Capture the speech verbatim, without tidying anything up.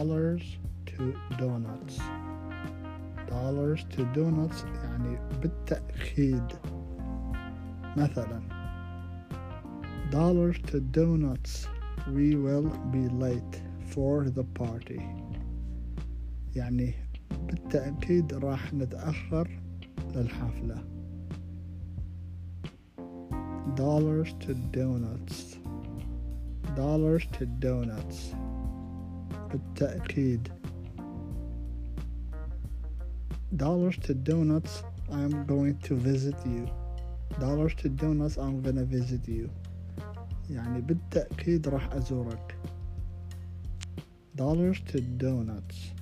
dollars to donuts. dollars to donuts يعني بالتأكيد. مثلا dollars to donuts, we will be late for the party. يعني بالتأكيد راح نتأخر للحفلة. dollars to donuts. dollars to donuts بالتأكيد. dollars to donuts, I'm going to visit you. dollars to donuts, I'm gonna visit you. يعني بالتأكيد راح أزورك. dollars to donuts.